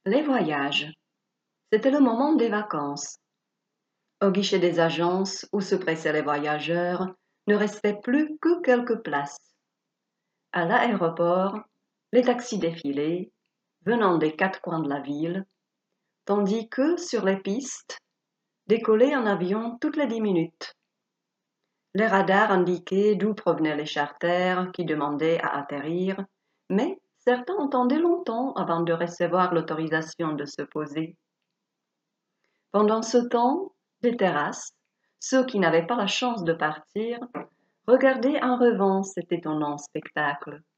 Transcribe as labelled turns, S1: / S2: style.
S1: Les voyages. C'était le moment des vacances. Au guichet des agences où se pressaient les voyageurs, ne restait plus que quelques places. À l'aéroport, les taxis défilaient, venant des quatre coins de la ville, tandis que, sur les pistes, décollaient un avion toutes les 10 minutes. Les radars indiquaient d'où provenaient les charters qui demandaient à atterrir, mais certains attendaient longtemps avant de recevoir l'autorisation de se poser. Pendant ce temps, des terrasses, ceux qui n'avaient pas la chance de partir, regardaient en revanche cet étonnant spectacle.